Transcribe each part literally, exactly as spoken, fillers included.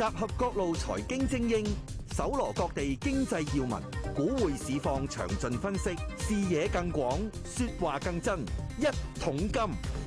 集合各路財經精英，搜羅各地經濟要聞，股匯市況詳盡分析，視野更廣，說話更真。一桶金。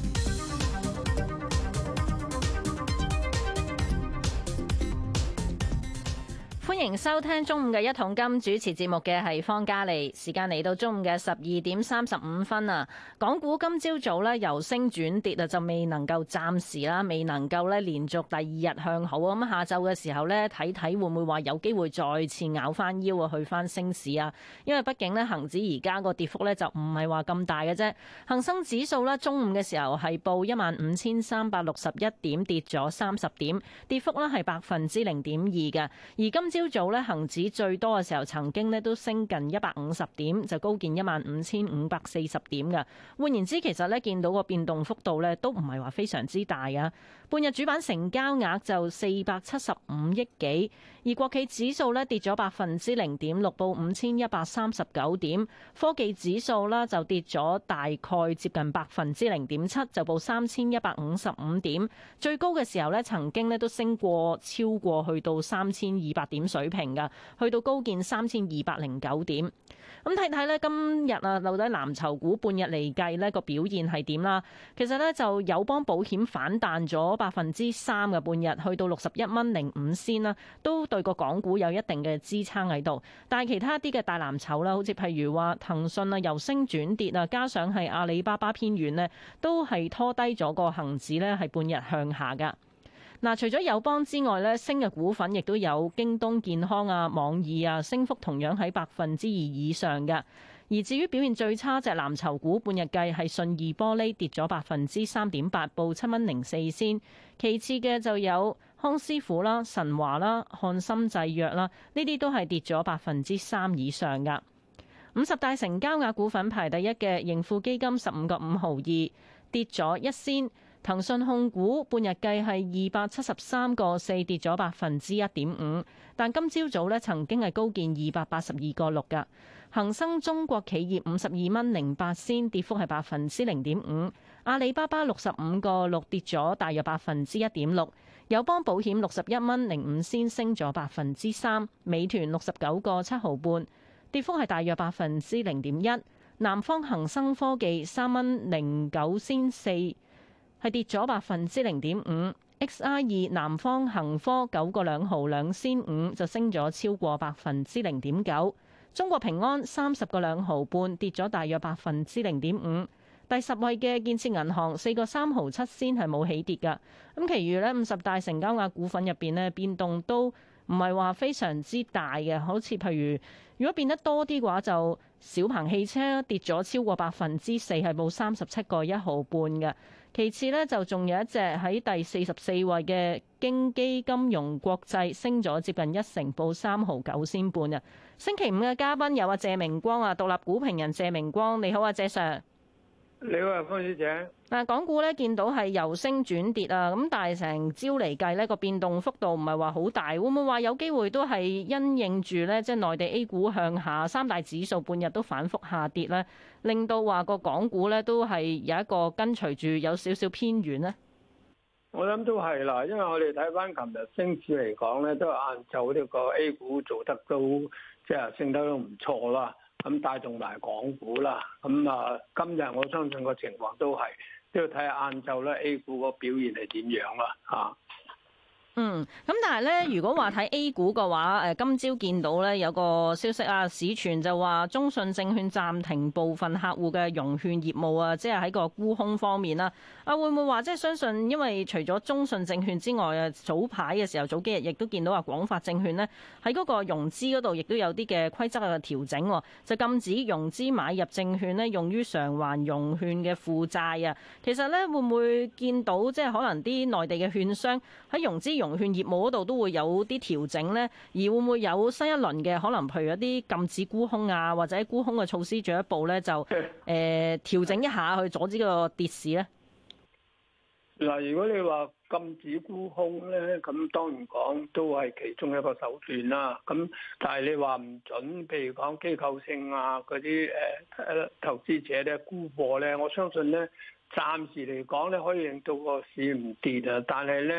歡迎收聽中午嘅一桶金，主持節目嘅係方嘉莉。時間嚟到中午嘅十二點三十五分啊！港股今朝早呢由升轉跌啊，就未能夠暫時啦，未能夠咧連續第二日向好啊！咁下晝嘅時候呢，睇睇會唔會話有機會再次咬翻腰啊，去翻升市啊？因為畢竟呢，恒指而家個跌幅呢就唔係話咁大嘅啫。恒生指數呢，中午嘅時候係報一萬五千三百六十一點，跌咗三十點，跌幅呢係百分之零點二嘅。而今朝早咧，恒指最多嘅時候，曾經咧都升近一百五十點，就高見一萬五千五百四十點嘅。換言之，其實咧見到個變動幅度咧都唔係話非常之大啊。半日主板成交額就四百七十五億幾，而國企指數咧跌咗百分之零點六，報五千一百三十九點。科技指數啦就跌咗大概接近百分之零點七，就報三千一百五十五點。最高嘅時候咧，曾經咧都升過超過去到三千二百點水平㗎，去到高見三千二百零九點。咁睇睇呢，今日啊，到底藍籌股半日嚟計呢個表現係點啦？其實呢，就友邦保險反彈咗百分之三嘅半日，去到六十一蚊零五仙啦，都對個港股有一定嘅支撐喺度。但係其他啲嘅大藍籌啦，好似譬如話騰訊啊，由升轉跌啊，加上係阿里巴巴偏軟呢，都係拖低咗個恒指呢，係半日向下㗎。嗱，除咗友邦之外咧，升嘅股份亦都有京東健康啊、網易啊，升幅同樣喺百分之二以上嘅。而至於表現最差隻藍籌股，半日計係信義玻璃跌咗百分之三點八，報七蚊零四仙。其次嘅就有康師傅啦、神華啦、漢森製藥啦，呢啲都係跌咗百分之三以上噶。五十大成交額股份排第一嘅盈富基金十五個五毫二，跌咗一仙。騰訊控股半日計係二百七十三個四，跌咗百分之一點五，但今朝早咧曾經係高見二百八十二個六噶。恒生中國企業五十二蚊零八仙，跌幅係百分之零點五。阿里巴巴六十五個六，跌咗大約百分之一點六。友邦保險六十一蚊零五仙，升咗百分之三。美團六十九個七毫半，跌幅係大約百分之零點一。南方恒生科技三蚊零九仙四，係跌咗百分之零點五。X I 二南方恒科九個兩毫兩仙五，就升咗超過百分之零點九。中國平安三十個兩毫半，跌咗大約百分之零點五。第十位嘅建設銀行四個三毫七仙，係冇起跌㗎。咁其餘呢五十大成交額股份入邊呢，變動都唔係話非常之大嘅，好似譬如如果變得多啲嘅話，就小鵬汽車跌咗超過百分之四，係報三十七個一毫半嘅。其次呢，就仲有一隻喺第四十四位嘅京基金融國際，升咗接近一成，報三毫九仙半啊。星期五嘅嘉賓有阿謝明光啊，獨立股評人謝明光，你好啊，謝 Sir。 你好啊，方小姐。 嗱，港股咧見到係由升轉跌啊，咁但係成朝嚟計呢個變動幅度唔係話好大，會唔會話有機會都係因應住呢？即係內地 A 股向下，三大指數半日都反覆下跌呢，令到話個港股呢都係有一個跟隨住有少少偏軟呢？ 我諗都係啦，因為我哋睇翻琴日升市嚟講咧，都係晏晝呢個 A 股做得都即係升得都唔錯啦。咁帶動埋港股啦，咁啊今日我相信個情況都係都要睇下晏晝咧 A 股個表現係點樣啦嚇。 嗯，咁但係咧，如果話睇 A 股嘅話，誒今朝見到咧有個消息啊，市傳就話中信證券暫停部分客戶嘅融券業務啊，即係喺個沽空方面啦。啊，會唔會話即係相信，因為除咗中信證券之外啊，早排嘅時候早幾日亦都見到話廣發證券呢喺嗰個融資嗰度亦都有啲嘅規則嘅調整，就禁止融資買入證券呢用於償還融券嘅負債啊。其實咧會唔會見到即係可能啲內地嘅券商喺融資融融券業務嗰度都會有啲調整呢，而會唔會有新一輪嘅可能，譬如一啲禁止沽空啊，或者沽空嘅措施進一步呢，就誒調整一下去阻止個跌市呢？ 嗱，如果你話禁止沽空呢，咁當然講都係其中一個手段啦。咁但係你話唔準，譬如講機構性啊嗰啲誒投資者咧沽貨呢，我相信呢，暫時嚟講咧可以令到個市唔跌啊，但係呢。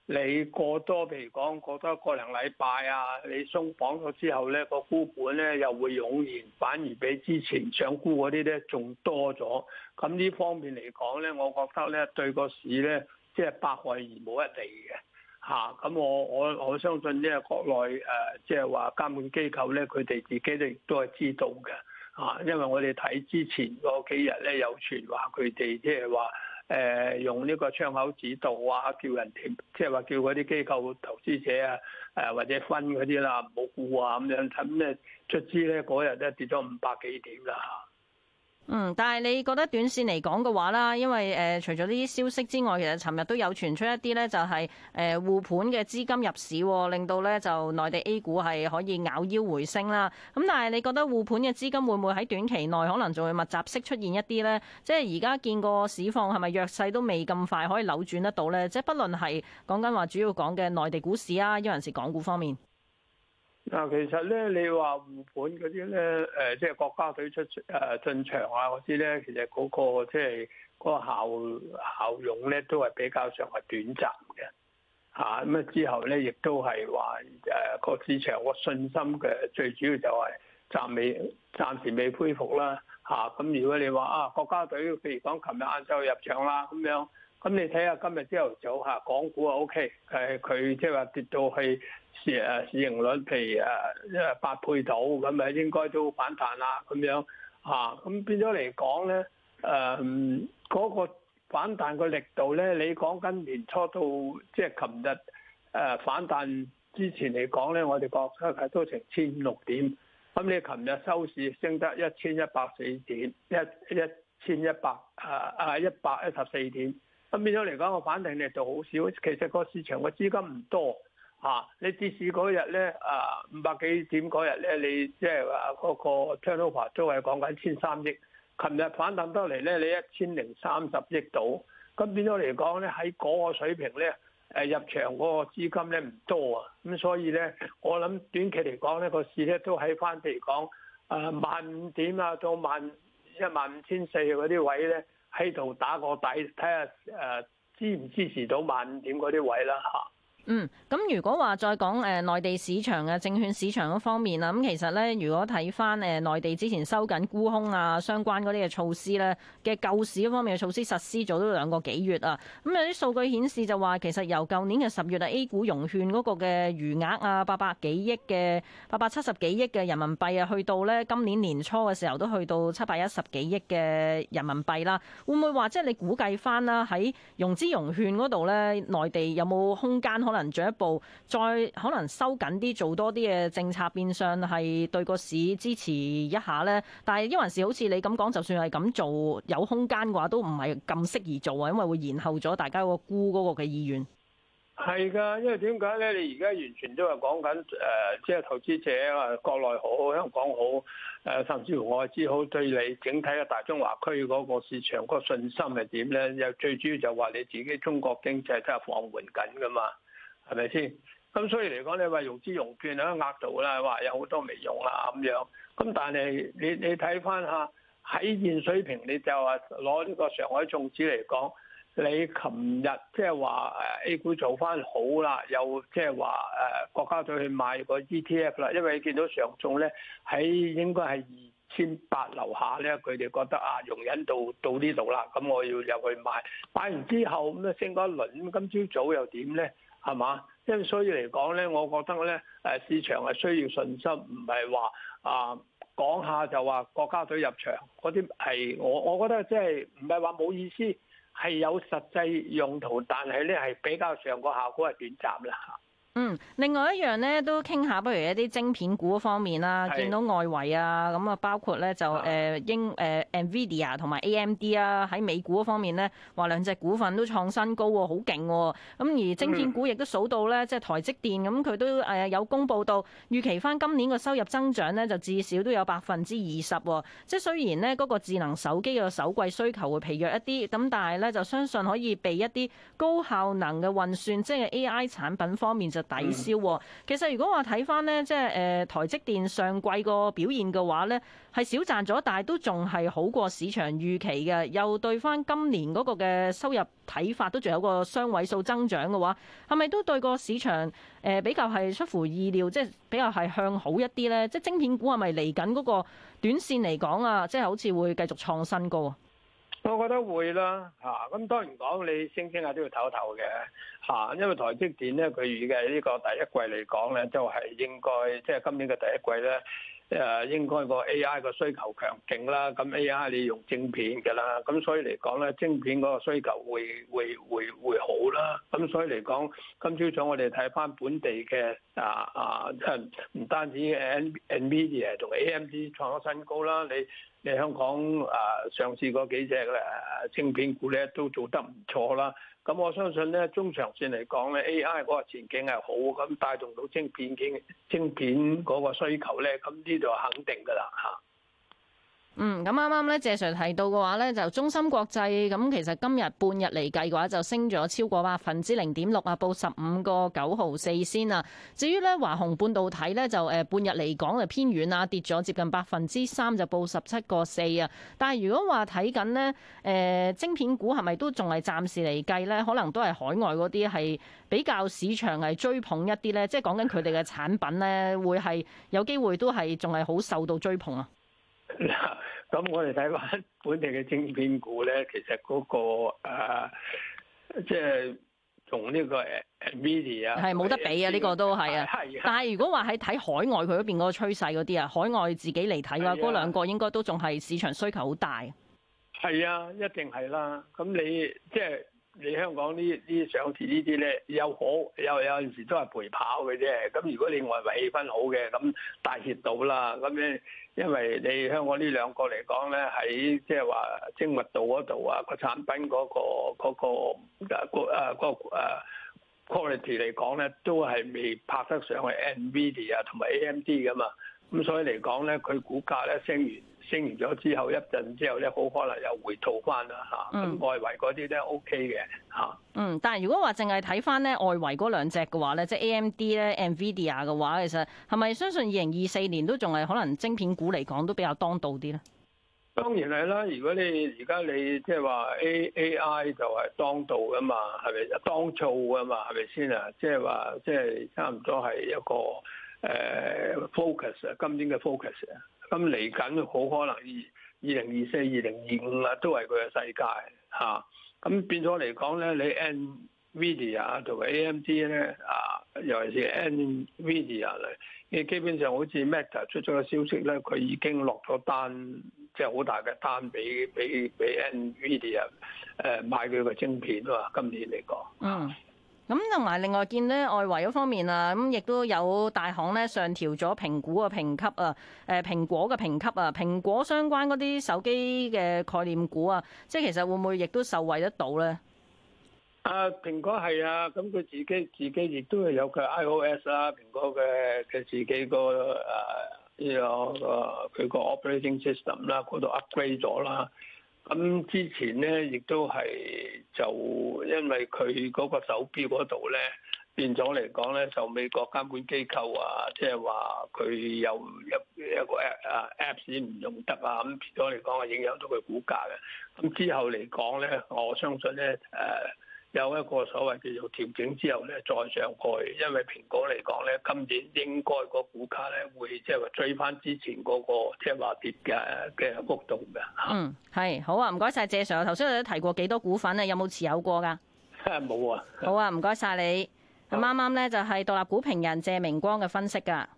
你過多譬如講過多一個零禮拜啊，你鬆綁咗之後咧，個沽盤咧又會湧現，反而比之前想沽嗰啲咧仲多咗。咁呢方面嚟講咧，我覺得咧對個市咧即係百害而無一利嘅。嚇、啊！咁我我我相信呢個國內誒，即係話監管機構咧，佢哋自己亦都係知道嘅。嚇、啊！因為我哋睇之前嗰幾日咧，有傳話佢哋即係話誒用呢個窗口指導啊，叫人哋即係話叫嗰啲機構投資者啊誒或者分嗰啲啦，唔好沽啊咁樣。咁咧卒之咧嗰日咧跌咗五百幾點啦嚇。 嗯，但係你覺得短線嚟講嘅話啦，因為誒、呃、除咗呢啲消息之外，其實尋日都有傳出一啲咧，就係誒護盤嘅資金入市，令到咧就內地 A 股係可以咬腰回升啦。咁但係你覺得護盤嘅資金會唔會喺短期內可能仲會密集式出現一啲咧？即係而家見個市況係咪弱勢都未咁快可以扭轉得到咧？即係不論係講緊話主要講嘅內地股市啊，抑或是港股方面。 嗱，其實咧，你話護盤嗰啲咧，誒，即係國家隊出誒進場啊嗰啲咧，其實嗰個即係嗰個效效用咧，都係比較上係短暫嘅嚇。咁啊之後咧，亦都係話誒個市場個信心嘅最主要就係暫未暫時未恢復啦嚇。咁如果你話啊國家隊譬如講琴日晏晝入場啦咁樣，咁你睇下今日朝頭早嚇港股啊 O K，誒佢即係話跌到去。市誒市盈率譬如誒誒八倍到咁咪應該都反彈啦咁樣嚇，咁變咗嚟講咧誒嗰個反彈個力度咧，你講緊年初到即係琴日誒反彈之前嚟講咧，我哋覺得係都成千五六點，咁你琴日收市升得一千一百四點，一一千一百誒誒一百一十四點，咁變咗嚟講個反彈力度好少，其實個市場個資金唔多。啊！你跌市嗰日咧，啊五百幾點嗰日咧，你即係話嗰個 turnover 都係講緊千三億。琴日反彈得嚟咧，你一千零三十億度，咁變咗嚟講咧，喺嗰個水平咧，誒入場嗰個資金咧唔多啊。咁所以咧，我諗短期嚟講咧，個市咧都喺翻譬如講誒萬五點啊，到萬一萬五千四嗰啲位咧，喺度打個底，睇下誒支唔支持到萬五點嗰啲位啦嚇。 嗯，咁如果話再講誒內地市場嘅證券市場嗰方面啦，咁其實咧，如果睇翻誒內地之前收緊沽空啊相關嗰啲嘅措施咧嘅救市嗰方面嘅措施實施咗都兩個幾月啊，咁有啲數據顯示就話其實由舊年嘅十月啊 A 股融券嗰個嘅餘額啊八百幾億嘅八百七十幾億嘅人民幣啊，去到咧今年年初嘅時候都去到七百一十幾億嘅人民幣啦，會唔會話即係你估計翻啦喺融資融券嗰度咧，內地有冇空間可能？可能進一步再可能收緊啲，做多啲嘅政策，變相係對個市支持一下咧。但係因為是好似你咁講，就算係咁做有空間嘅話，都唔係咁適宜做啊，因為會延後咗大家個沽嗰個嘅意願。 係㗎，因為點解咧？你而家完全都係講緊誒，即係投資者啊，國內好，香港好，誒甚至乎外資好，對你整體嘅大中華區嗰個市場嗰個信心係點咧？又最主要就話你自己中國經濟真係放緩緊㗎嘛。係咪先？咁所以嚟講，你話融資融券喺額度啦，話有好多未用啦咁樣。咁但係你你睇翻下喺現水平，你就話攞呢個上海綜指嚟講，你琴日即係話誒 A 股做翻好啦，又即係話誒國家隊去買個 E T F 啦，因為你見到上證咧喺應該係二千八樓下咧，佢哋覺得啊容忍到到呢度啦，咁我要入去買。買完之後咁啊升嗰一輪，咁今朝早又點咧？係嘛？因為所以嚟講咧，我覺得咧，誒市場係需要信心，唔係話啊講下就話國家隊入場嗰啲係我我覺得即係唔係話冇意思，係有實際用途，但係咧係比較上個效果係短暫啦嚇。 嗯，另外一樣咧都傾下，不如一啲晶片股方面啦，見到外圍啊，咁啊包括咧就誒英誒 Nvidia 同埋 A M D 啊，喺美股嗰方面咧話兩隻股份都創新高喎，好勁喎。咁而晶片股亦都數到咧，即係台積電咁，佢都誒有公佈到預期翻今年個收入增長咧，就至少都有百分之二十喎。即係雖然呢嗰個智能手機嘅首季需求會疲弱一啲，咁但係咧就相信可以被一啲高效能嘅運算，即係 A I 產品方面就抵消喎。其實如果話睇翻呢，即係誒台積電上季個表現嘅話呢，係少賺咗，但係都仲係好過市場預期嘅。又對翻今年嗰個嘅收入睇法，都仲有個雙位數增長嘅話，係咪都對個市場誒比較係出乎意料，即係比較係向好一啲呢？即係晶片股係咪嚟緊嗰個短線嚟講啊，即係好似會繼續創新高啊？ 我覺得會啦，嚇、啊、咁當然講你升升下都要唞唞嘅嚇，因為台積電咧，佢預計呢個第一季嚟講咧，都係應該即係今年嘅第一季咧。誒應該個 A I 個需求強勁啦，咁 A I 你用晶片嘅啦，咁所以嚟講咧，晶片嗰個需求會會會會好啦。咁所以嚟講，今朝早我哋睇翻本地嘅啊啊，即係唔單止 Nvidia 同 A M D 創咗新高啦，你你香港啊上市嗰幾隻誒晶片股咧都做得唔錯啦。咁我相信咧，中長線嚟講咧 ，A I 嗰個前景係好，咁帶動到晶片嘅晶片嗰個需求咧，咁呢度肯定㗎啦嚇。 嗯，咁啱啱咧，謝 Sir 提到嘅話咧，就中芯國際咁，其實今日半日嚟計嘅話，就升咗超過百分之零點六啊，報十五個九毫四先啊。至於咧華虹半導體咧，就誒半日嚟講就偏軟啊，跌咗接近百分之三，就報十七個四啊。但係如果話睇緊呢，誒晶片股係咪都仲係暫時嚟計咧？可能都係海外嗰啲係比較市場係追捧一啲咧，即係講緊佢哋嘅產品咧，會係有機會都係仲係好受到追捧啊。 嗱，咁我哋睇翻本地嘅晶片股咧，其實嗰、那個誒，即係同呢個 Nvidia 啊，係冇得比啊！呢個都係啊。係。但係如果話喺睇海外佢嗰邊嗰個趨勢嗰啲啊，海外自己嚟睇嘅話，嗰兩個應該都仲係市場需求好大。係啊，一定係啦。咁你即係。你香港呢啲上市呢啲咧，有好有有陣時都係陪跑嘅啫。咁如果你外圍氣氛好嘅，咁大熱到啦。咁咧，因為你香港呢兩個嚟講咧，喺即係話精密度嗰度啊，個產品嗰個嗰個誒個誒個誒 quality 嚟講咧，都係未拍得上去 Nvidia 同埋 A M D 噶嘛。咁所以嚟講咧，佢股價咧升完。升完咗之後一陣之後咧，好可能又回吐翻啦嚇。咁、嗯、外圍嗰啲咧 OK 嘅嚇。嗯， 但係如果話淨係睇翻咧外圍嗰兩隻嘅話咧，即係 A M D 咧、Nvidia 嘅話，其實係咪相信二零二四年都仲係可能晶片股嚟講都比較當道啲咧？ 當然係啦，如果你而家你即係話 A A I 就係當道噶嘛，係咪當造噶嘛，係咪先啊？即係話即係差唔多係一個誒、呃、focus 啊，今年嘅 focus 啊。咁嚟緊好可能二二零二四、二零二五啊，都係佢嘅世界嚇。咁、啊、變咗嚟講咧，你 Nvidia 同埋 A M D 咧啊，尤其是 Nvidia 咧，你基本上好似 Meta 出咗個消息咧，佢已經落咗單，即係好大嘅單俾俾俾 Nvidia 誒買佢個晶片啊。今年嚟講，嗯。 咁同埋另外見咧外圍嗰方面啊，咁亦都有大行咧上調咗蘋果嘅評級啊，誒蘋果嘅評級啊，蘋果相關嗰啲手機嘅概念股啊，即係其實會唔會亦都受惠得到咧？ 啊，蘋果係啊，咁佢自己自己亦都係有佢 iOS 啦，蘋果嘅嘅自己個誒呢個佢個 operating system 啦，嗰度 upgrade 咗啦。咁之前咧，亦都係就因為佢嗰個手錶嗰度咧變咗嚟講咧，受美國監管機構啊，即係話佢有有一個 app 啊 Apps 唔用得啊，咁變咗嚟講係影響到佢股價嘅。咁之後嚟講咧，我相信咧誒。呃有一個所謂叫做調整之後咧，再上去，因為蘋果嚟講咧，今年應該個股價咧會即係話追翻之前嗰個即係話跌嘅嘅幅度嘅。 嗯，係好啊，唔該晒謝 Sir。頭先我哋提過幾多股份啊？有冇持有過㗎？ 冇啊。 好啊，唔該晒你。咁啱啱咧就係獨立股評人謝明光嘅分析㗎。